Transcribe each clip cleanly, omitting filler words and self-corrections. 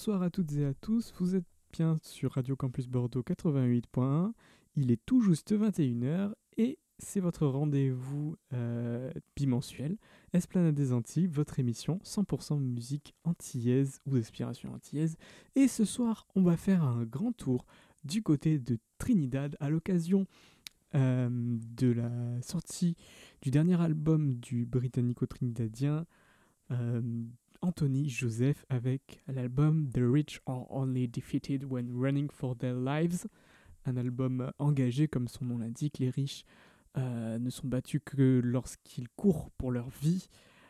Bonsoir à toutes et à tous, vous êtes bien sur Radio Campus Bordeaux 88.1, il est tout juste 21h et c'est votre rendez-vous bimensuel, Esplanade des Antilles, votre émission 100% musique antillaise ou d'inspiration antillaise. Et ce soir, on va faire un grand tour du côté de Trinidad à l'occasion de la sortie du dernier album du britannico-trinidadien Anthony Joseph avec l'album The Rich Are Only Defeated When Running for Their Lives, un album engagé comme son nom l'indique. Les riches ne sont battus que lorsqu'ils courent pour leur vie.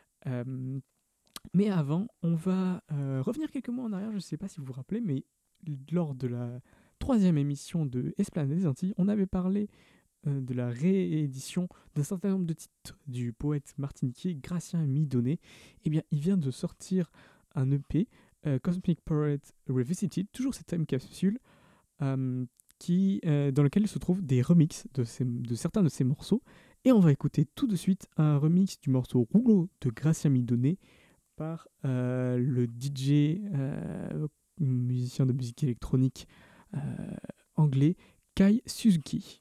Mais avant, on va revenir quelques mois en arrière. Je ne sais pas si vous vous rappelez, mais lors de la 3e émission de Esplanade des Antilles, on avait parlé de la réédition d'un certain nombre de titres du poète martiniquais Gratien Midonnet. Eh bien, il vient de sortir un EP, Cosmic Poet Revisited, toujours cette même capsule, dans lequel se trouvent des remixes de certains de ses morceaux. Et on va écouter tout de suite un remix du morceau Rouleau de Gratien Midonnet par le DJ, musicien de musique électronique anglais, Kai Suzuki.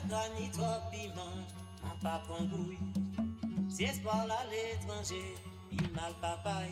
gras ni trop piment, en pas pangouille. Si espoir à l'étranger, il mal papaye.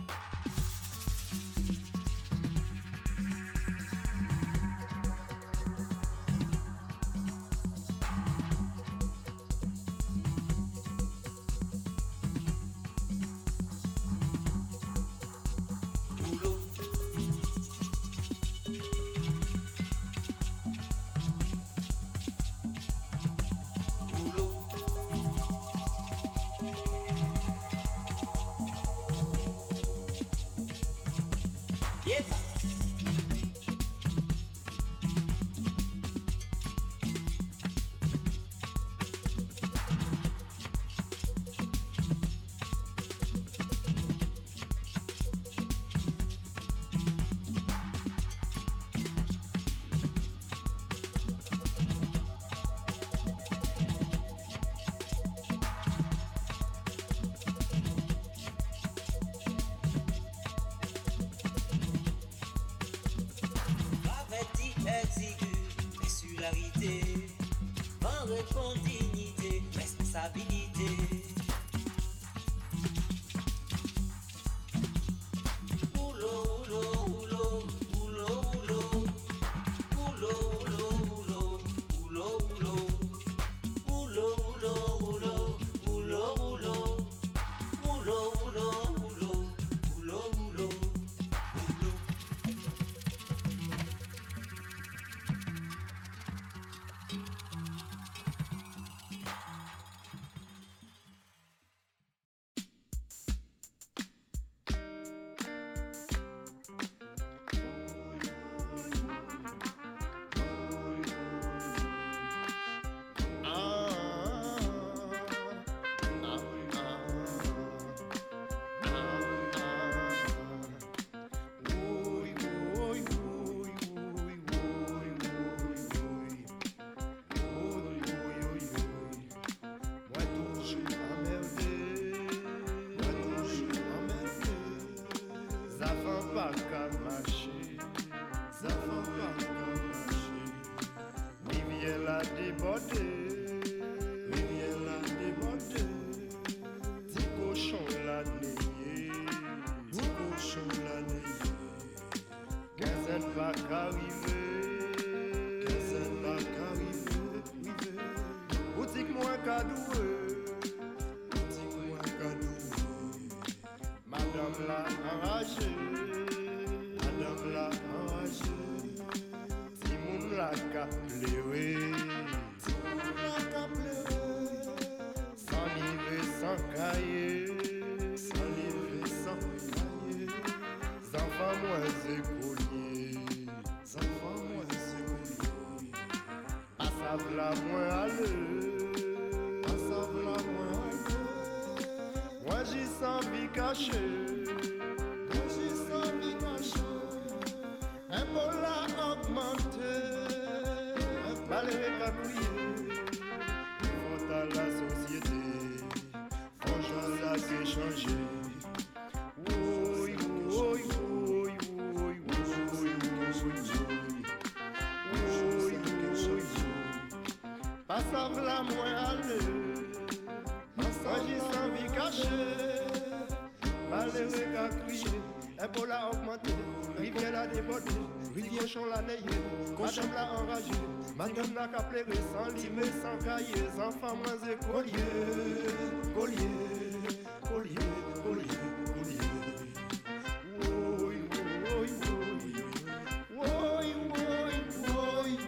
Madame n'a qu'à pleurer sans livre, sans cahier, enfants moins écoliers. Collier, collier, collier, collier. Oui, oui, oui, oui, oui,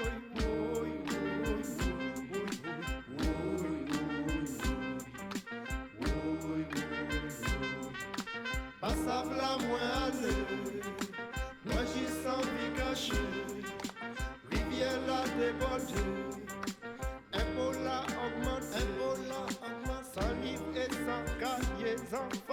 passable à moi aller, moi j'y sens vie cachée. La débordé, Ebola augmente, sans livre et sans cahier,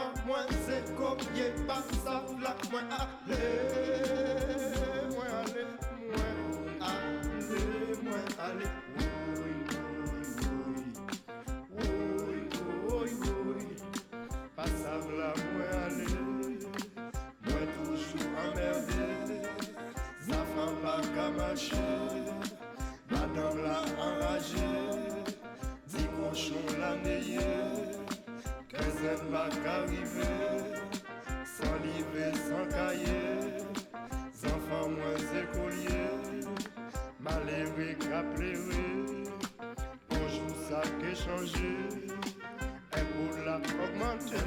ça qui a changé, et pour la augmenter.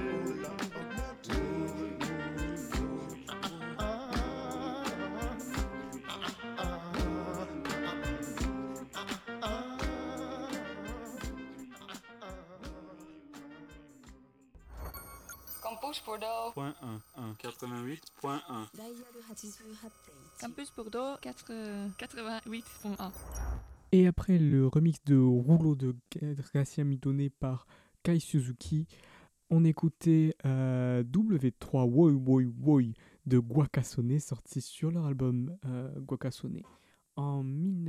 Campus Bordeaux. Point 1, 88.1. Campus Bordeaux 88.1. Et après le remix de Rouleau de Gracia Midone par Kai Suzuki, on écoutait W3 Woi Woi Woi de Guacasone, sorti sur leur album Guacasone en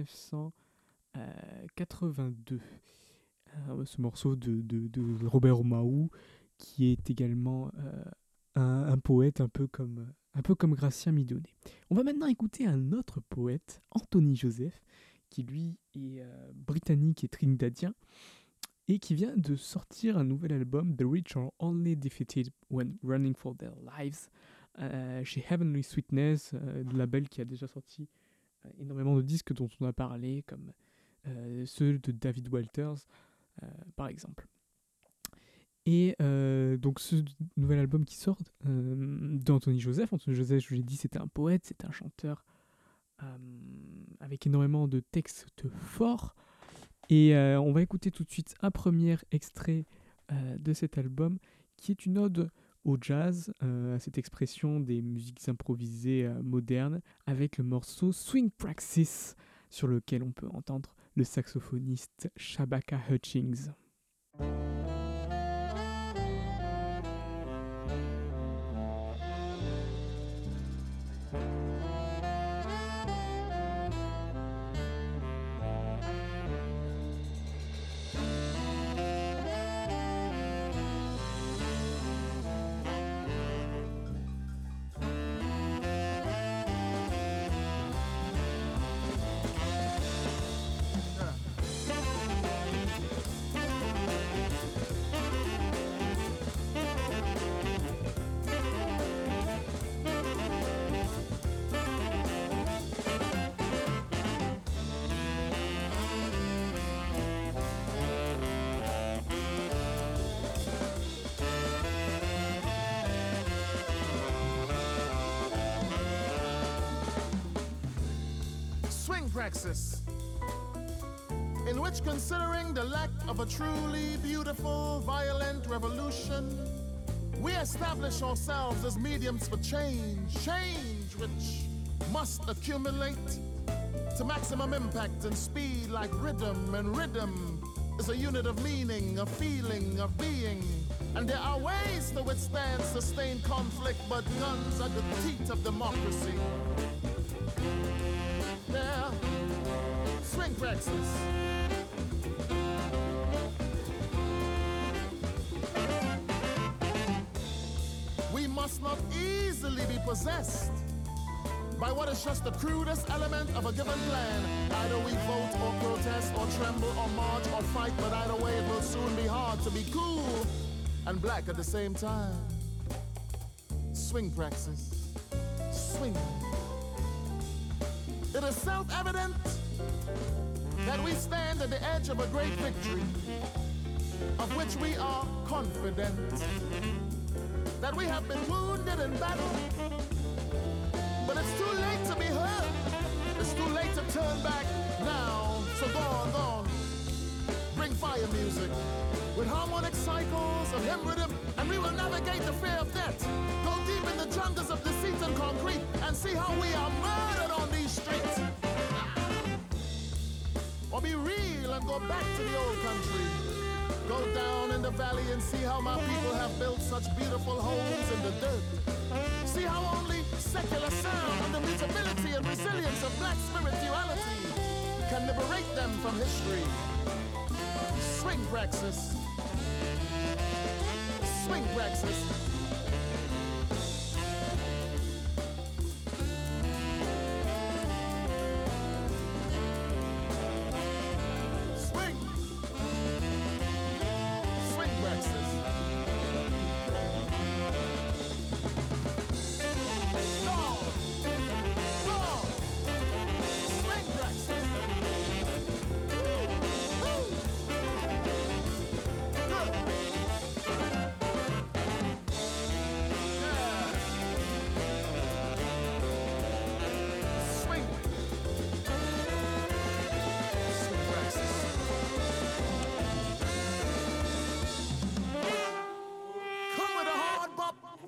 1982. Ce morceau de Robert Omaou, qui est également un poète un peu comme Gratien Midone. On va maintenant écouter un autre poète, Anthony Joseph, qui lui est britannique et trinidadien, et qui vient de sortir un nouvel album, The Rich Are Only Defeated When Running for Their Lives, chez Heavenly Sweetness, le label qui a déjà sorti énormément de disques dont on a parlé, comme ceux de David Walters, par exemple. Et donc ce nouvel album qui sort d'Anthony Joseph. Anthony Joseph, je l'ai dit, c'était un poète, c'est un chanteur avec énormément de textes forts. Et on va écouter tout de suite un premier extrait de cet album, qui est une ode au jazz, à cette expression des musiques improvisées modernes, avec le morceau Swing Praxis, sur lequel on peut entendre le saxophoniste Shabaka Hutchings. Praxis, in which, considering the lack of a truly beautiful, violent revolution, we establish ourselves as mediums for change which must accumulate to maximum impact and speed like rhythm, and rhythm is a unit of meaning, a feeling, of being. And there are ways to withstand sustained conflict, but guns are the teeth of democracy. There, swing praxis. We must not easily be possessed by what is just the crudest element of a given plan. Either we vote or protest or tremble or march or fight, but either way it will soon be hard to be cool and black at the same time. Swing praxis. Swing. It is self-evident that we stand at the edge of a great victory, of which we are confident, that we have been wounded in battle, but it's too late to be hurt. It's too late to turn back now. So go on. Bring fire music with harmonic cycles of hymn rhythm, and we will navigate the fear of death. Go deep in the jungles of deceit and concrete and see how we are murdered on these streets. Or be real and go back to the old country. Go down in the valley and see how my people have built such beautiful homes in the dirt. See how only secular sound and the mutability and resilience of black spirituality can liberate them from history. Swing praxis. Swing praxis.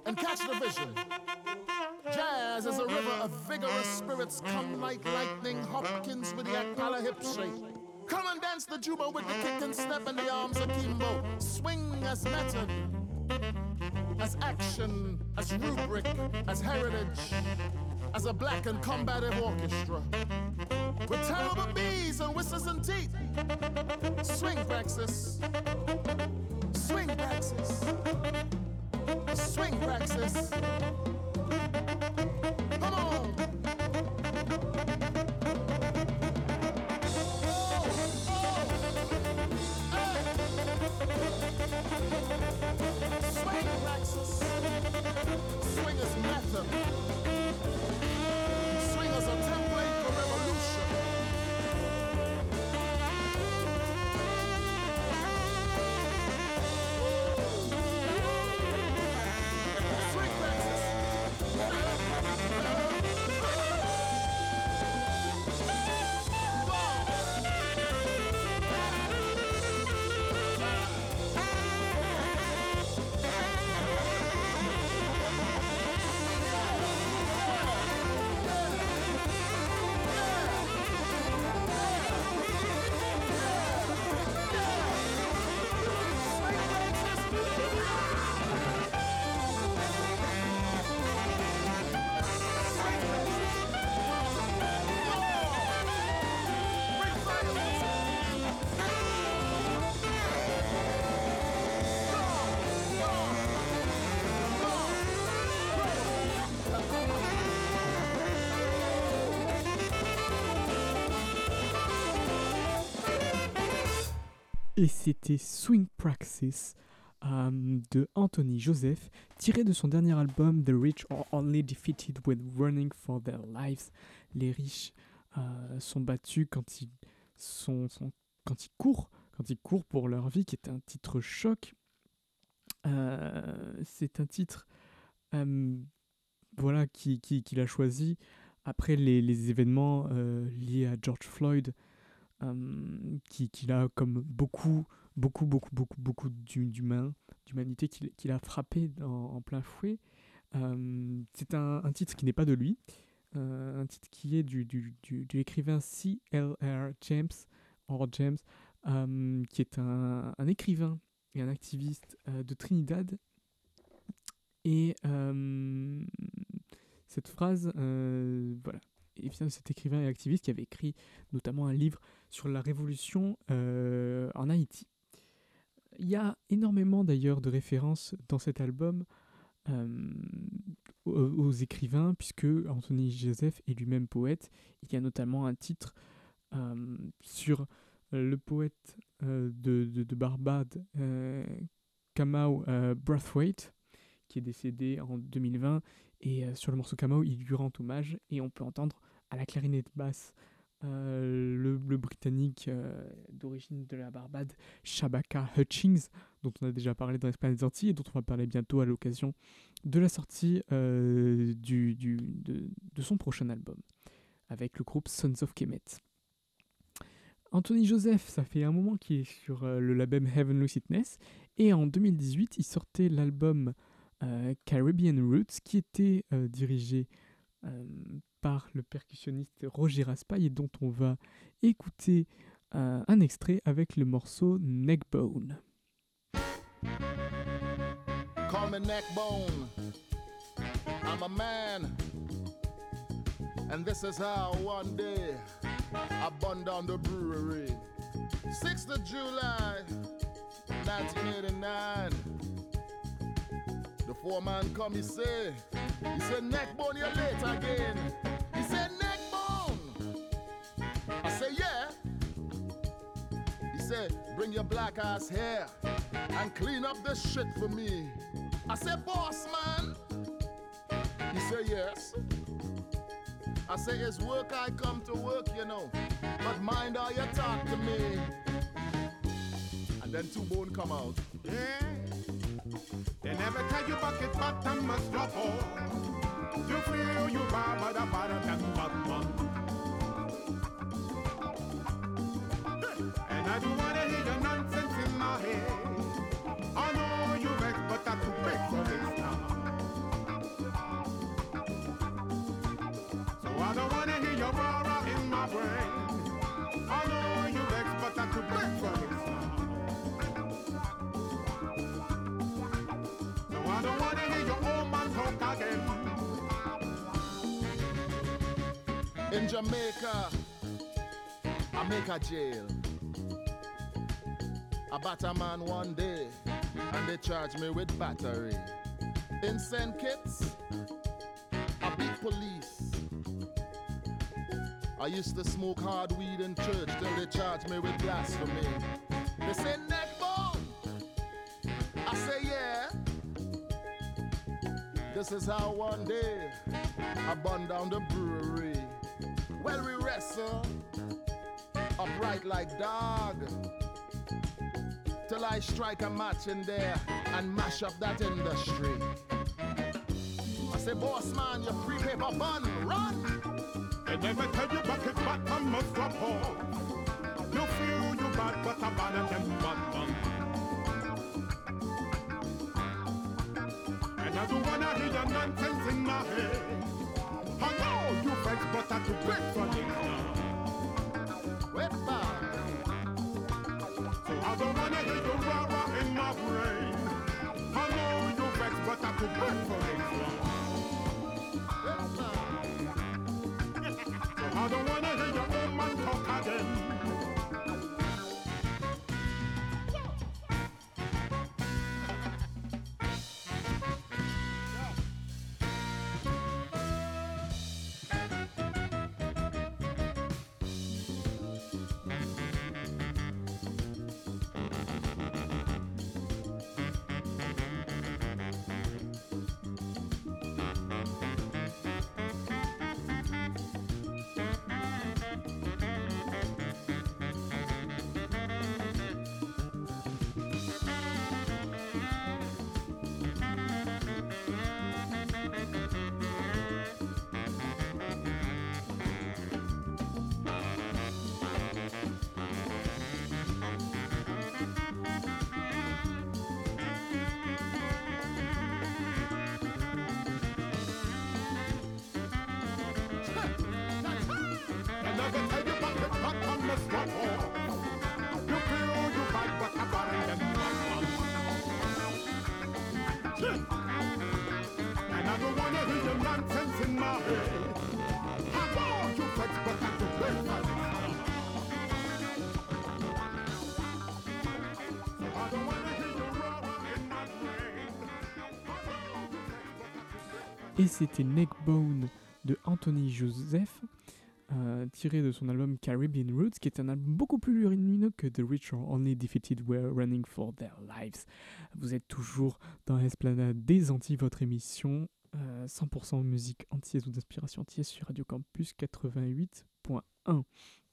and catch the vision. Jazz is a river of vigorous spirits. Come like lightning, Hopkins with the Akala hip shake. Come and dance the juba with the kick and step in the arms of Kimbo. Swing as method, as action, as rubric, as heritage, as a black and combative orchestra. With terrible bees and whistles and teeth. Swing praxis. Swing praxis. Swing praxis. Come on. Swing praxis. Swing is method. Swing is a template for revolution. Swing praxis. Et c'était Swing Praxis de Anthony Joseph, tiré de son dernier album The Rich Are Only Defeated When Running for Their Lives. Les riches sont battus quand ils courent pour leur vie, qui est un titre choc. C'est un titre qu'il a choisi après les événements liés à George Floyd, qu'il a comme beaucoup d'humanité qu'il a frappé en plein fouet. C'est un titre qui n'est pas de lui, un titre qui est de l'écrivain C.L.R. James, qui est un écrivain et un activiste de Trinidad. Et cette phrase, et bien cet écrivain et activiste qui avait écrit notamment un livre sur la révolution en Haïti. Il y a énormément d'ailleurs de références dans cet album aux écrivains, puisque Anthony Joseph est lui-même poète. Il y a notamment un titre sur le poète de Barbade, Kamau Brathwaite, qui est décédé en 2020. Et sur le morceau Kamau, il lui rend hommage, et on peut entendre à la clarinette basse le Britannique d'origine de la Barbade, Shabaka Hutchings, dont on a déjà parlé dans l'Espagne des Antilles et dont on va parler bientôt à l'occasion de la sortie de son prochain album avec le groupe Sons of Kemet. Anthony Joseph, ça fait un moment qu'il est sur le label Heavenly Sweetness, et en 2018 il sortait l'album Caribbean Roots, qui était dirigé par le percussionniste Roger Raspail, et dont on va écouter un extrait avec le morceau Neckbone. Call me Neckbone. I'm a man, and this is how one day I burned down the brewery. 6th of July, 1989. The foreman come, he said, Neckbone, you're late again. He said, Neckbone. I said, yeah. He said, bring your black ass here and clean up this shit for me. I said, boss man. He said, yes. I say, it's work I come to work, you know, but mind how you talk to me. And then Two Bone come out. Yeah. They never tell you bucket bottom must drop off. You feel you bar, but a bottom than bottom. And I don't wanna hear your nonsense in my head. I know you vex, but that's too big for this now. rah-rah in my brain. I know you vex, but I could break for it now. No, I don't wanna hear your old man talk again. In Jamaica, I make a jail. I bat a man one day, and they charge me with battery. In St. Kitts, I beat police. I used to smoke hard weed in church till they charged me with blasphemy. They say neckbone. I say yeah. This is how one day I burned down the brewery. Well, we wrestle upright like dog till I strike a match in there and mash up that industry. I say, boss man, you free paper bun, run! They never tell you back it bottom must drop off. You feel you bad, but a bad than bottom. And I don't wanna hear your nonsense in my head. I know you vex, but I could break for it now. Wait, man. So I don't wanna hear you rah-rah in my brain. I know you vex, but I could break for it now. I don't wanna hear your old man talk again. Et c'était Neckbone de Anthony Joseph, tiré de son album Caribbean Roots, qui est un album beaucoup plus lumineux que The Rich or Only Defeated Were Running for Their Lives. Vous êtes toujours dans l'Esplanade des Antilles, votre émission 100% musique antillaise ou d'inspiration antillaise sur Radio Campus 88.1.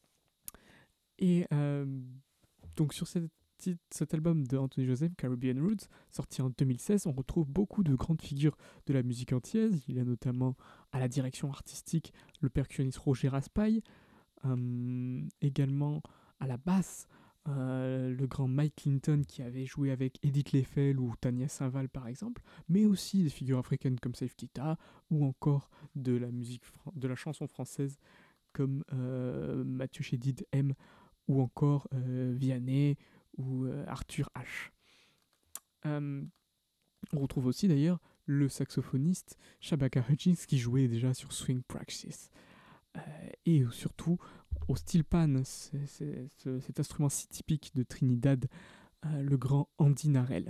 Et donc sur cet album de Anthony Joseph, Caribbean Roots, sorti en 2016, on retrouve beaucoup de grandes figures de la musique antillaise. Il y a notamment à la direction artistique le percussionniste Roger Raspail, également à la basse le grand Mike Clinton qui avait joué avec Edith Leffel ou Tania Saint-Val par exemple, mais aussi des figures africaines comme Saif Keita ou encore de la musique de la chanson française comme Mathieu Chédid M ou encore Vianney ou Arthur H. On retrouve aussi d'ailleurs le saxophoniste Shabaka Hutchings qui jouait déjà sur Swing Praxis. Et surtout au steel pan, cet instrument si typique de Trinidad, le grand Andy Narell.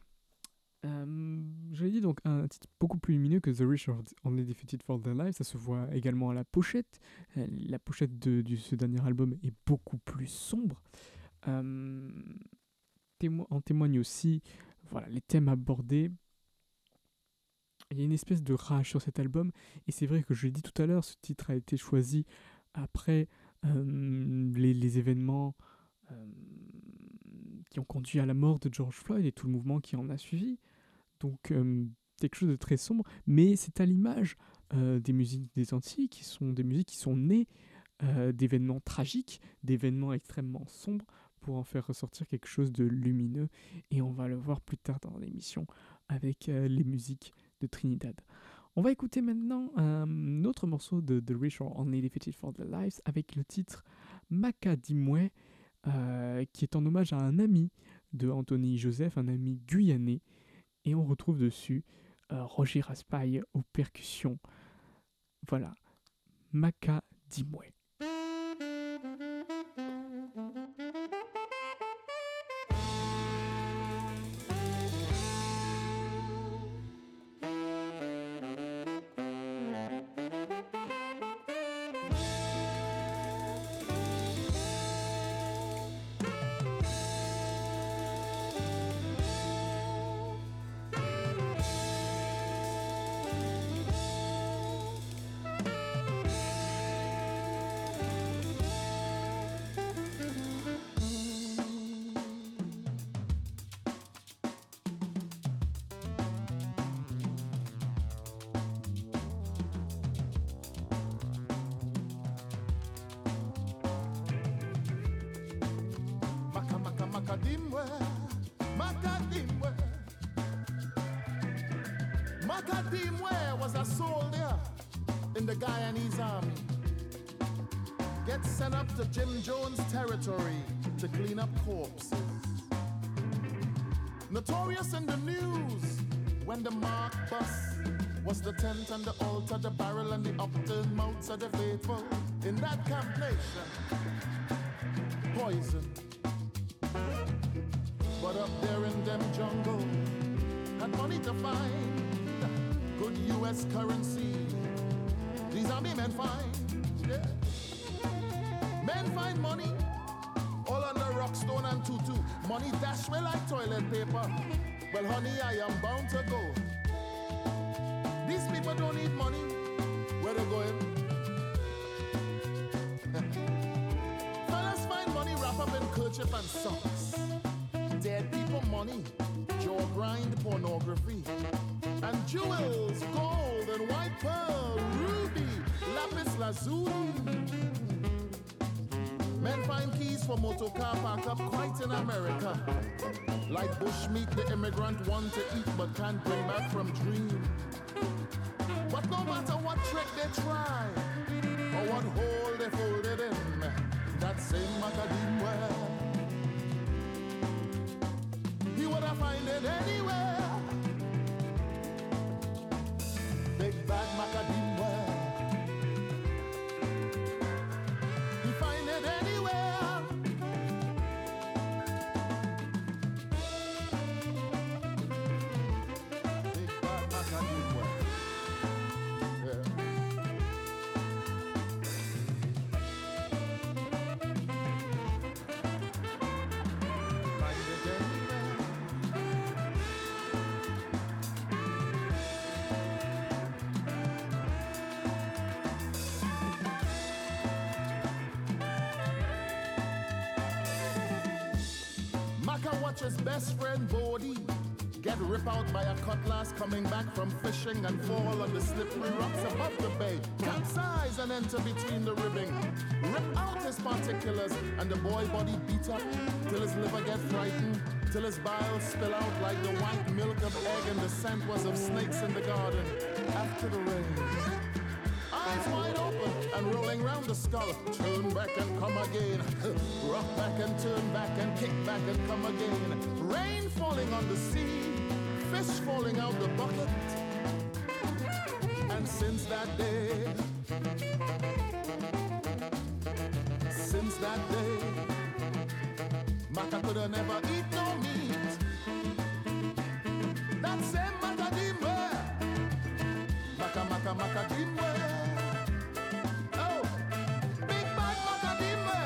Je l'ai dit, donc un titre beaucoup plus lumineux que The Rich or Only Defeated for Their Lives. Ça se voit également à la pochette. La pochette de ce dernier album est beaucoup plus sombre. En témoigne aussi les thèmes abordés. Il y a une espèce de rage sur cet album, et c'est vrai que je l'ai dit tout à l'heure, ce titre a été choisi après les événements qui ont conduit à la mort de George Floyd et tout le mouvement qui en a suivi. Donc quelque chose de très sombre, mais c'est à l'image des musiques des Antilles, qui sont des musiques qui sont nées d'événements tragiques, d'événements extrêmement sombres, pour en faire ressortir quelque chose de lumineux, et on va le voir plus tard dans l'émission avec les musiques de Trinidad. On va écouter maintenant un autre morceau de The Rich Are Only Defeated for Their Lives avec le titre Makadimwe, qui est en hommage à un ami de Anthony Joseph, un ami guyanais. Et on retrouve dessus Roger Raspail aux percussions. Voilà, Makadimwe. Makadimwe, Makadimwe. Makadimwe was a soldier in the Guyanese army. Gets sent up to Jim Jones' territory to clean up corpses. Notorious in the news when the mark bus was the tent and the altar, the barrel and the upturned mouths of the faithful in that camp nation. Poison. But up there in them jungle, had money to find, good US currency. These army men find, yeah. Men find money, all under rockstone and tutu. Money dash me like toilet paper. Well, honey, I am bound to go. These people don't need money. Where they going? Fellas find money wrapped up in kerchief and socks. Dead people money, jaw grind pornography, and jewels, gold and white pearl, ruby, lapis lazuli. Men find keys for motor car parked up quite in America. Like bushmeat the immigrant want to eat but can't bring back from dream. But no matter what trick they try, or what hole they folded in, that same Makadimwe, he would have find it anywhere. Big bad Makadimwe, he find it anywhere. Big bad Makadimwe, yeah. Find it anywhere. Maka watches best friend Bodie get ripped out by a cutlass coming back from fishing and fall on the slippery rocks above the bay. Capsize and enter between the ribbing. Rip out his particulars and the boy body beat up till his liver get frightened, till his bile spill out like the white milk of egg and the scent was of snakes in the garden after the rain. Eyes wide open and rolling round the skull. Turn back and come again. Rock back and turn back and kick back and come again. Rain falling on the sea, fish falling out the bucket. And since that day, Maka coulda never eat no meat. That same Makadimwe, Makadimwe. Oh, big bad Makadimwe.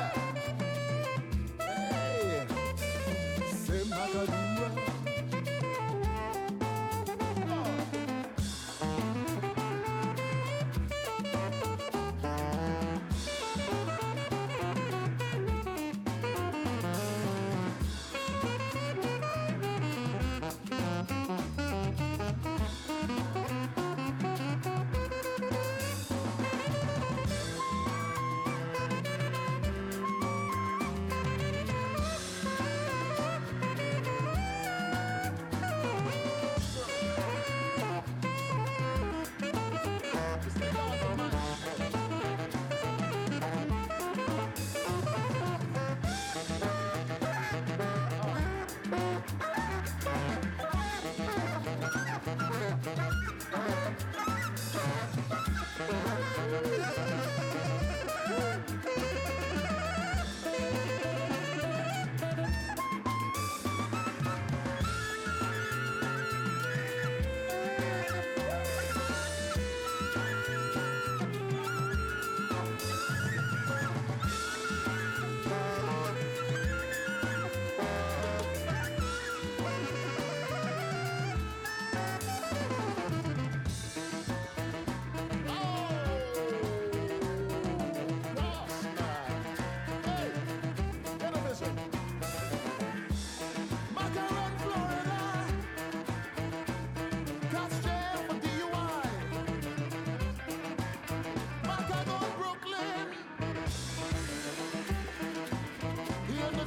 Hey, same Makadimwe.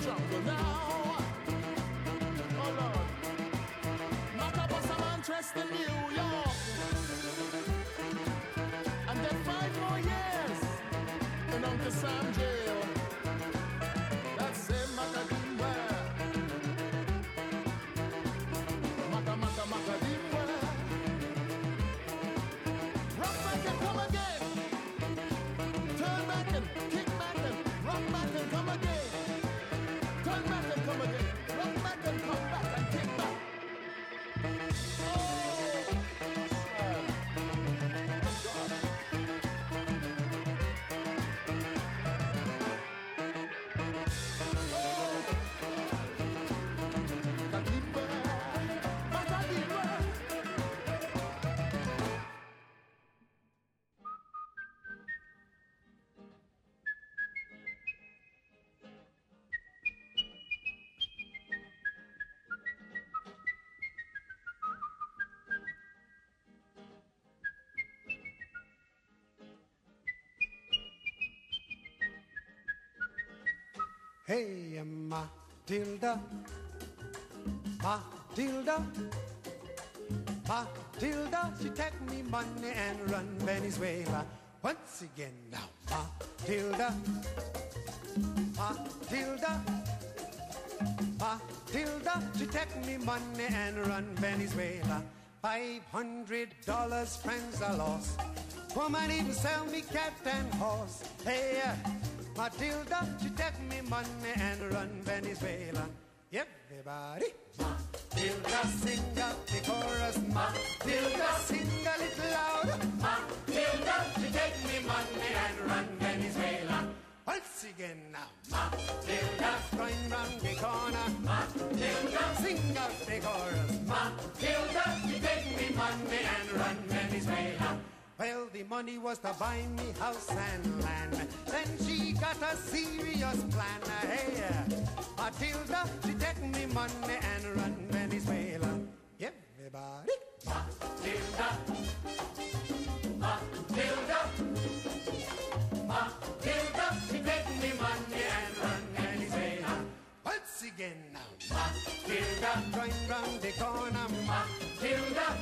jungle now. Oh Lord. Knock up some interest in New York. And then 5 more years in Uncle Sam jail. That's it, Macadimba. Macadimba. Rock back and come again. Turn back and kick back and rock back and come again. Turn back and come again. Rock back and come back and kick back. Hey, Matilda, Matilda, Matilda, she take me money and run Venezuela. Once again now, Matilda, Matilda, Matilda, she take me money and run Venezuela. $500 friends I lost. Woman even sell me cat and horse. Hey, Matilda, she take me money and run Venezuela. Everybody, Matilda, sing up the chorus. Matilda, sing a little louder. Matilda, she take me money and run Venezuela. Once again now, Matilda, going round the corner. Matilda, sing up the chorus. Matilda, she take me money and run Venezuela. Well, the money was to buy me house and land. Then she got a serious plan. Hey, Matilda, she take me money and run Venezuela. Everybody, Matilda, Matilda, Matilda, she take me money and run Venezuela. Once again now, Matilda, going round the corner. Matilda,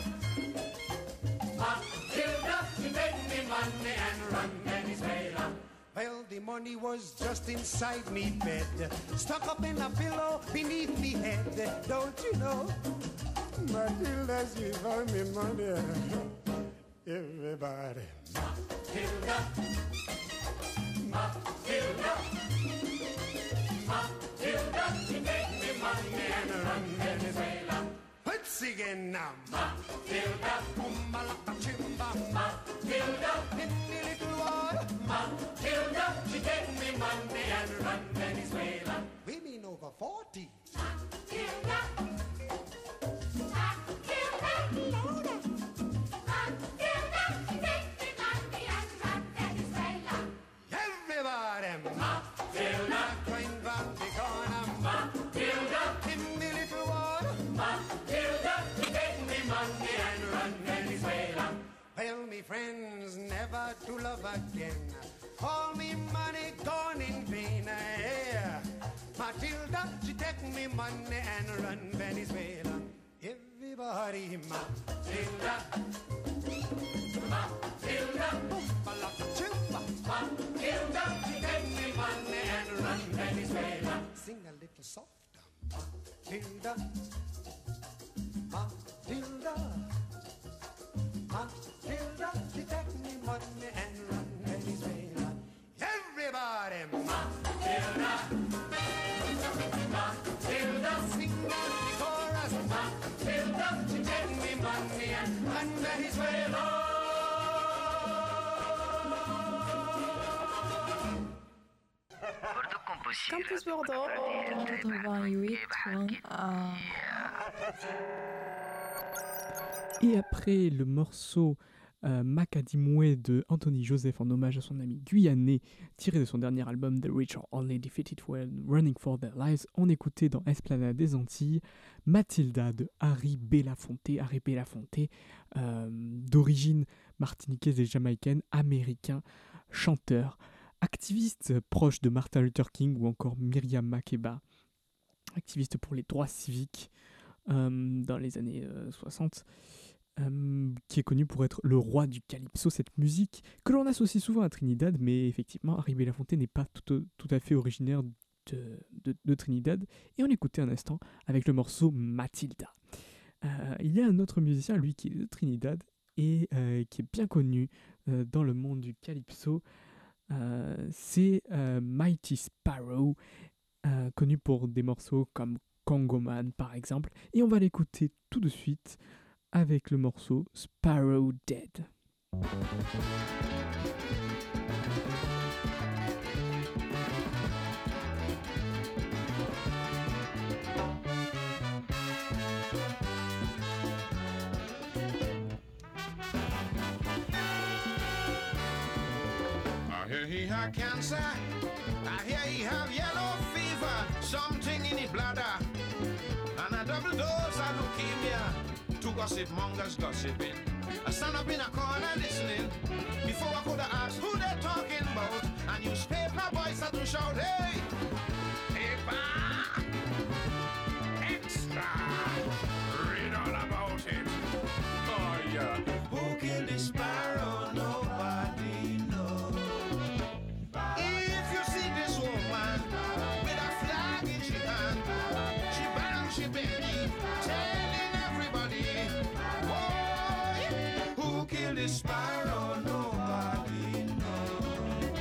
Matilda, she make me money and run Venezuela. Well, the money was just inside me bed, stuck up in a pillow beneath me head. Don't you know? Matilda, she found me money. Everybody. Matilda, Matilda, Matilda, she make me money and run Venezuela. Once again now, Matilda, Chimba, Matilda, in the little water, Matilda, she take me money and run Venezuela. Women over 40. Matilda, Matilda, louder. Matilda, she take me money and run Venezuela. Everybody, Matilda, going round the corner, Matilda, in the little water, Matilda, she take me money and run Venezuela. Well, me friends, never to love again. All me money gone in vain. Yeah. Matilda, she take me money and run Venezuela. Everybody, Matilda, Matilda, Matilda, she take me money and run Venezuela. Sing a little softer, Matilda, Matilda, Matilda, she take me money and run Venezuela. Everybody, Matilda, Matilda, sing out the chorus. Matilda, she take me money and run Venezuela. Campus Bordeaux 88.1. Et après le morceau Macadimoué de Anthony Joseph en hommage à son ami guyanais, tiré de son dernier album The Rich Are Only Defeated When Running for Their Lives, on écoutait dans Esplanade des Antilles Matilda de Harry Belafonte. Harry Belafonte, d'origine martiniquaise et jamaïcaine, américain, chanteur, activiste proche de Martin Luther King ou encore Myriam Makeba. activiste pour les droits civiques dans les années 60, qui est connu pour être le roi du calypso, cette musique que l'on associe souvent à Trinidad, mais effectivement, Harry Belafonte n'est pas tout à fait originaire de Trinidad, et on l'écoutait un instant avec le morceau Matilda. Il y a un autre musicien, lui, qui est de Trinidad, et qui est bien connu dans le monde du calypso, c'est Mighty Sparrow, connu pour des morceaux comme Congo Man par exemple, et on va l'écouter tout de suite avec le morceau Sparrow Dead. I hear he had cancer, I hear he have yellow fever, something in his bladder, and a double dose of leukemia. Two gossip mongers gossiping. I stand up in a corner listening. Before I could have asked who they're talking about, and newspaper boys had to shout, hey, paper, extra, read all about it. Oh yeah. Who killed the sparrow? Nobody knows. If you see this woman with a flag in she hand, she bangs she belly, telling everybody, boy, who killed the sparrow? Nobody knows.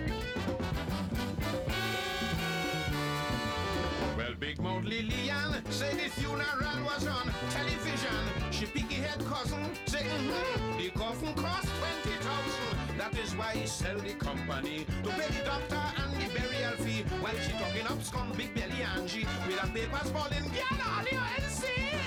Well, Big Mouth Lillian said the funeral was on television. She picky head cousin say, the coffin cost 20,000. That is why he sell the company to pay the doctor and the burial fee. While she talking up scum Big Belly Angie with her papers falling, get on your NC.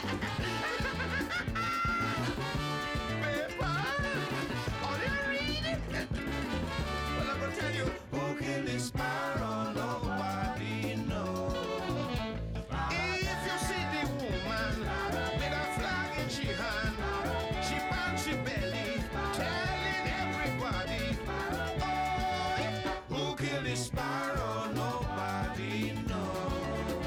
Paper, all you read. Well, I'm gonna tell you, who killed the sparrow? Nobody knows. If you see the woman with a flag in she hand, she bangs she belly, telling everybody, oh, who killed the sparrow? Nobody knows.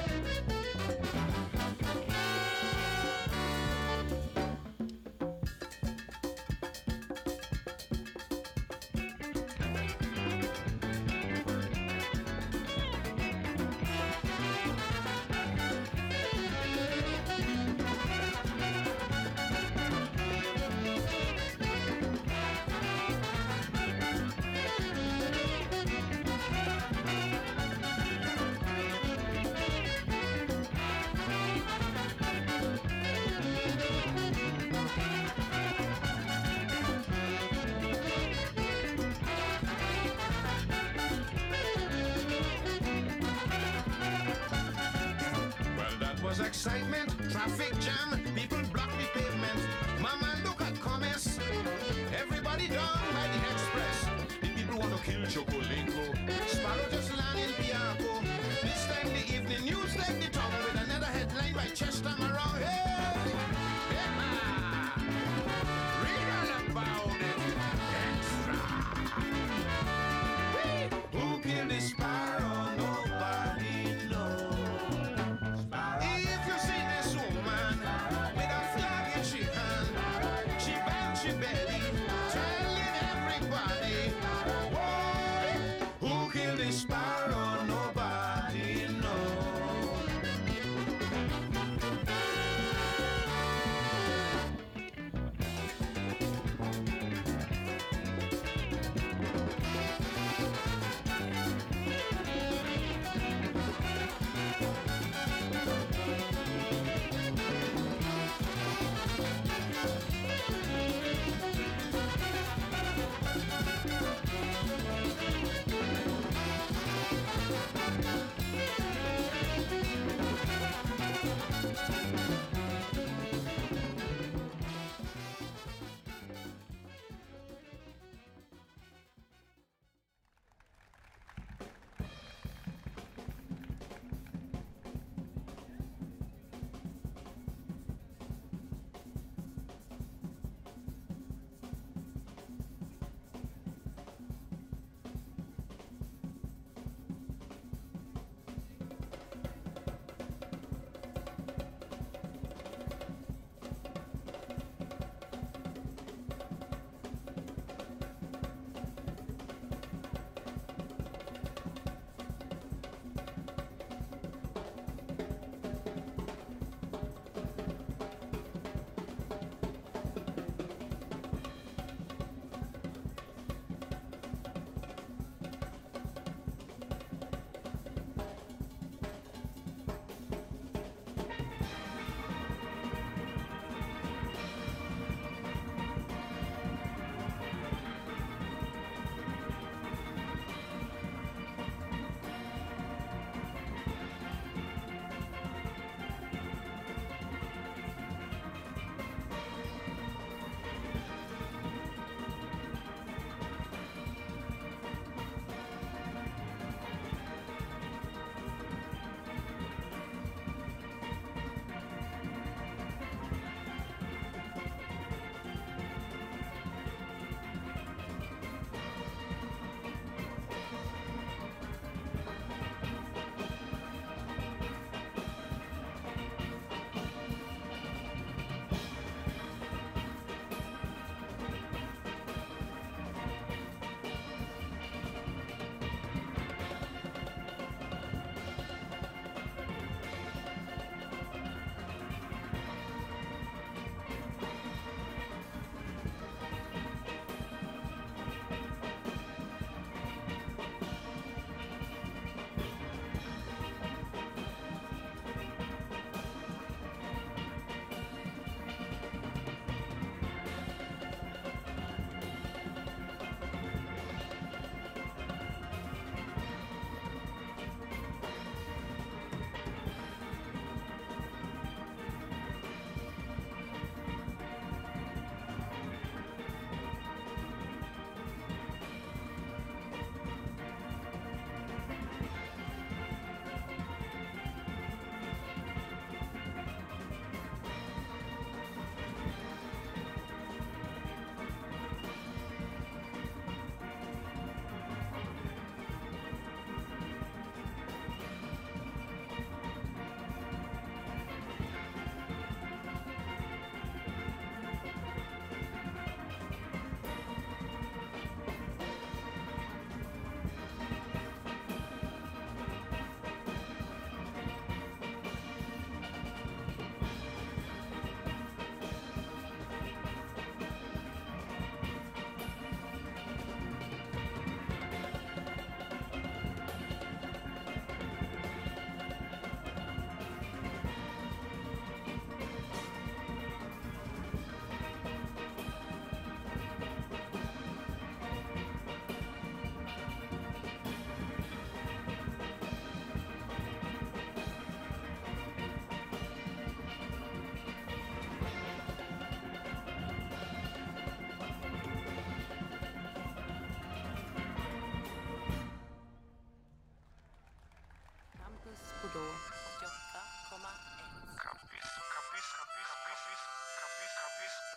Well, that was excitement, traffic jam, people block the pavement. Mama, look at commerce. Everybody down by the express. The people want to kill Chocolingo. Sparrow just land in Piaco. This time the evening news left the town with another headline by Chester Morrow. Hey! Yeah! Read all about it. Extra. Who killed the sparrow? Nobody knows. If you see this woman with a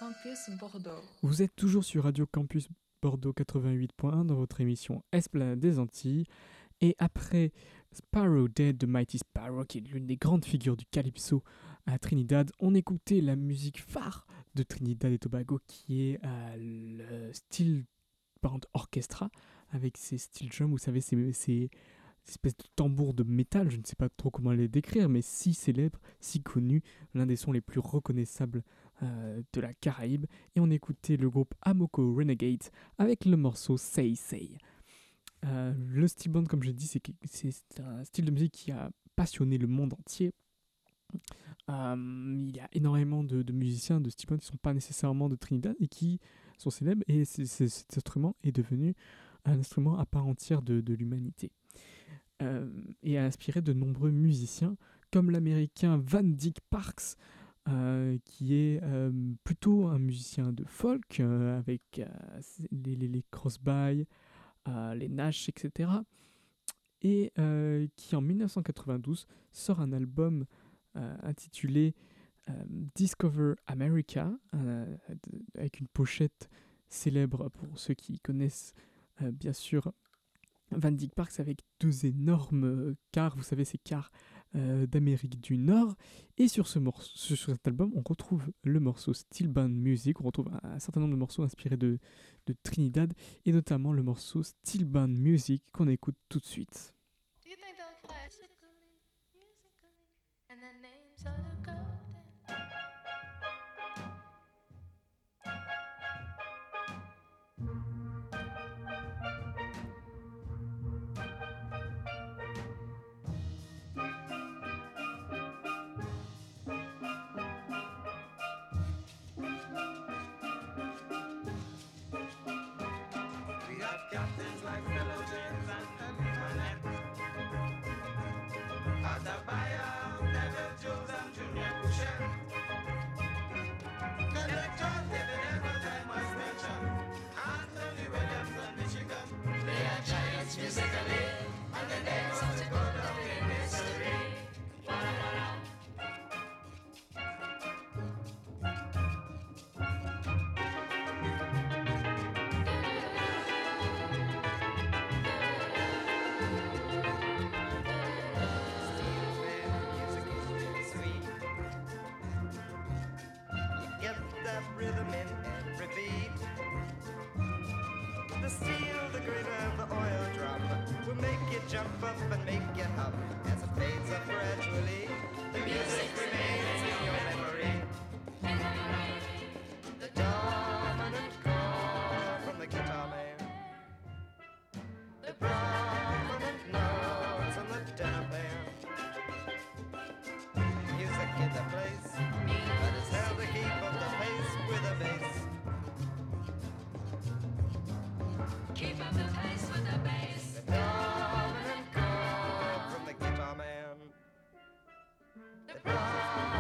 Campus Bordeaux. Vous êtes toujours sur Radio Campus Bordeaux 88.1 dans votre émission Esplanade des Antilles. Et après Sparrow Dead de Mighty Sparrow, qui est l'une des grandes figures du calypso à Trinidad, on écoutait la musique phare de Trinidad et Tobago, qui est le Steel Band Orchestra, avec ses steel drums, vous savez, ces espèces de tambours de métal, je ne sais pas trop comment les décrire, mais si célèbres, si connus, l'un des sons les plus reconnaissables de la Caraïbe. Et on écoutait le groupe Amoco Renegades avec le morceau Say Say. Le steel band, comme je l'ai dit, c'est un style de musique qui a passionné le monde entier. Il y a énormément de musiciens de steel band qui ne sont pas nécessairement de Trinidad et qui sont célèbres, et cet instrument est devenu un instrument à part entière de l'humanité. Et a inspiré de nombreux musiciens, comme l'américain Van Dyke Parks, qui est plutôt un musicien de folk, avec les Crosby, les Nash, etc. Et qui en 1992 sort un album intitulé Discover America, avec une pochette célèbre pour ceux qui connaissent bien sûr Van Dyke Parks, avec deux énormes cars, vous savez, ces cars d'Amérique du Nord. Et sur cet album, on retrouve le morceau Steel Band Music, on retrouve un certain nombre de morceaux inspirés de Trinidad, et notamment le morceau Steel Band Music qu'on écoute tout de suite. Rhythm in every beat. The steel, the grit of the oil drum will make you jump up and make you hum. As it fades up gradually, the music remains in your memory. The dominant chord from the guitar man, the prominent notes on the tenor band. Music in the place that is held to keep up the pace with a bass. Keep up the pace with the bass. The dominant chord from the guitar man. The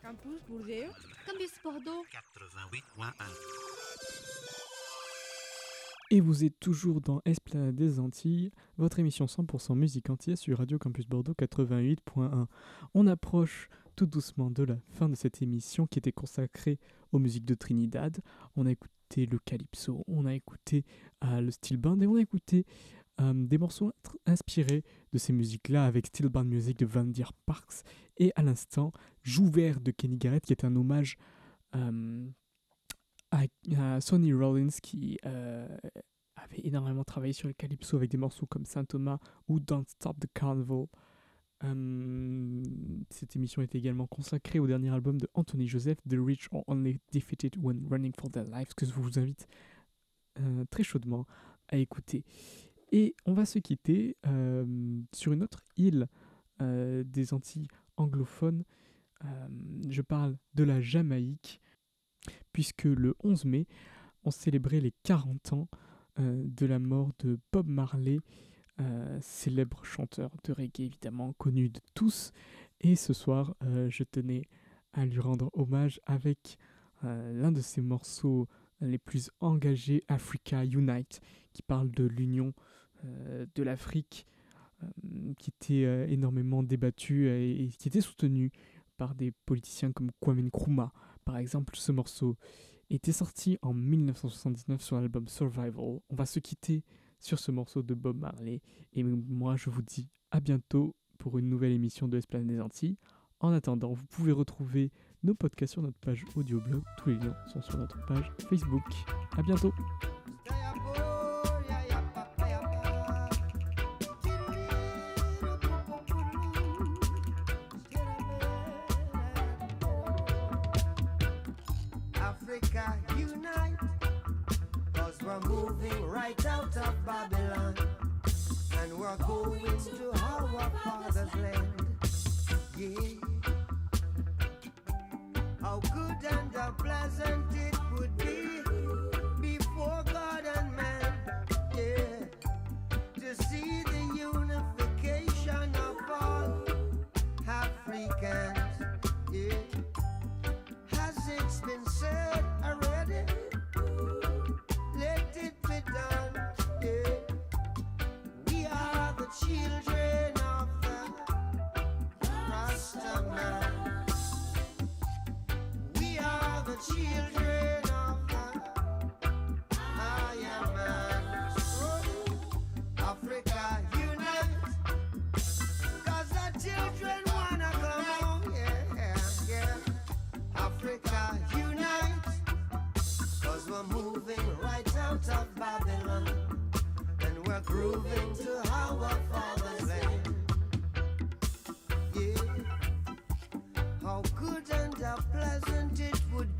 Campus Bordeaux. Campus Bordeaux. 88.1. Et vous êtes toujours dans Esplanade des Antilles, votre émission 100% musique antillaise sur Radio Campus Bordeaux 88.1. On approche tout doucement de la fin de cette émission qui était consacrée aux musiques de Trinidad. On a écouté le calypso, on a écouté le steel band et on a écouté des morceaux inspirés de ces musiques-là avec Steel Band Music de Van Deer Parks et à l'instant Jouvert de Kenny Garrett qui est un hommage à Sonny Rollins qui avait énormément travaillé sur le calypso avec des morceaux comme Saint Thomas ou Don't Stop the Carnival. Cette émission est également consacrée au dernier album de Anthony Joseph, The Rich Are Only Defeated When Running for Their Lives, que je vous invite très chaudement à écouter. Et on va se quitter sur une autre île des Antilles anglophones. Je parle de la Jamaïque, puisque le 11 mai, on célébrait les 40 ans de la mort de Bob Marley, célèbre chanteur de reggae évidemment connu de tous. Et ce soir, je tenais à lui rendre hommage avec l'un de ses morceaux les plus engagés, Africa Unite, qui parle de l'union de l'Afrique, qui était énormément débattu et qui était soutenu par des politiciens comme Kwame Nkrumah. Par exemple, ce morceau était sorti en 1979 sur l'album Survival. On va se quitter sur ce morceau de Bob Marley. Et moi, je vous dis à bientôt pour une nouvelle émission de Esplanade des Antilles. En attendant, vous pouvez retrouver nos podcasts sur notre page audioblog. Tous les liens sont sur notre page Facebook. À bientôt. Africa unite, 'cause we're moving right out of Babylon, and we're going to our father's land. Yeah. How good and how pleasant it would be before God and man, yeah, to see the unification of all Africans, yeah. Has it been said already? Let it be done, yeah. We are the children of the Rastaman. We are the children of the Ayaman. Africa unite, 'cause the children wanna come home, yeah, yeah. Africa unite, 'cause we're moving right out of Babylon, and we're grooving to our father's land. Yeah. How good and how pleasant it would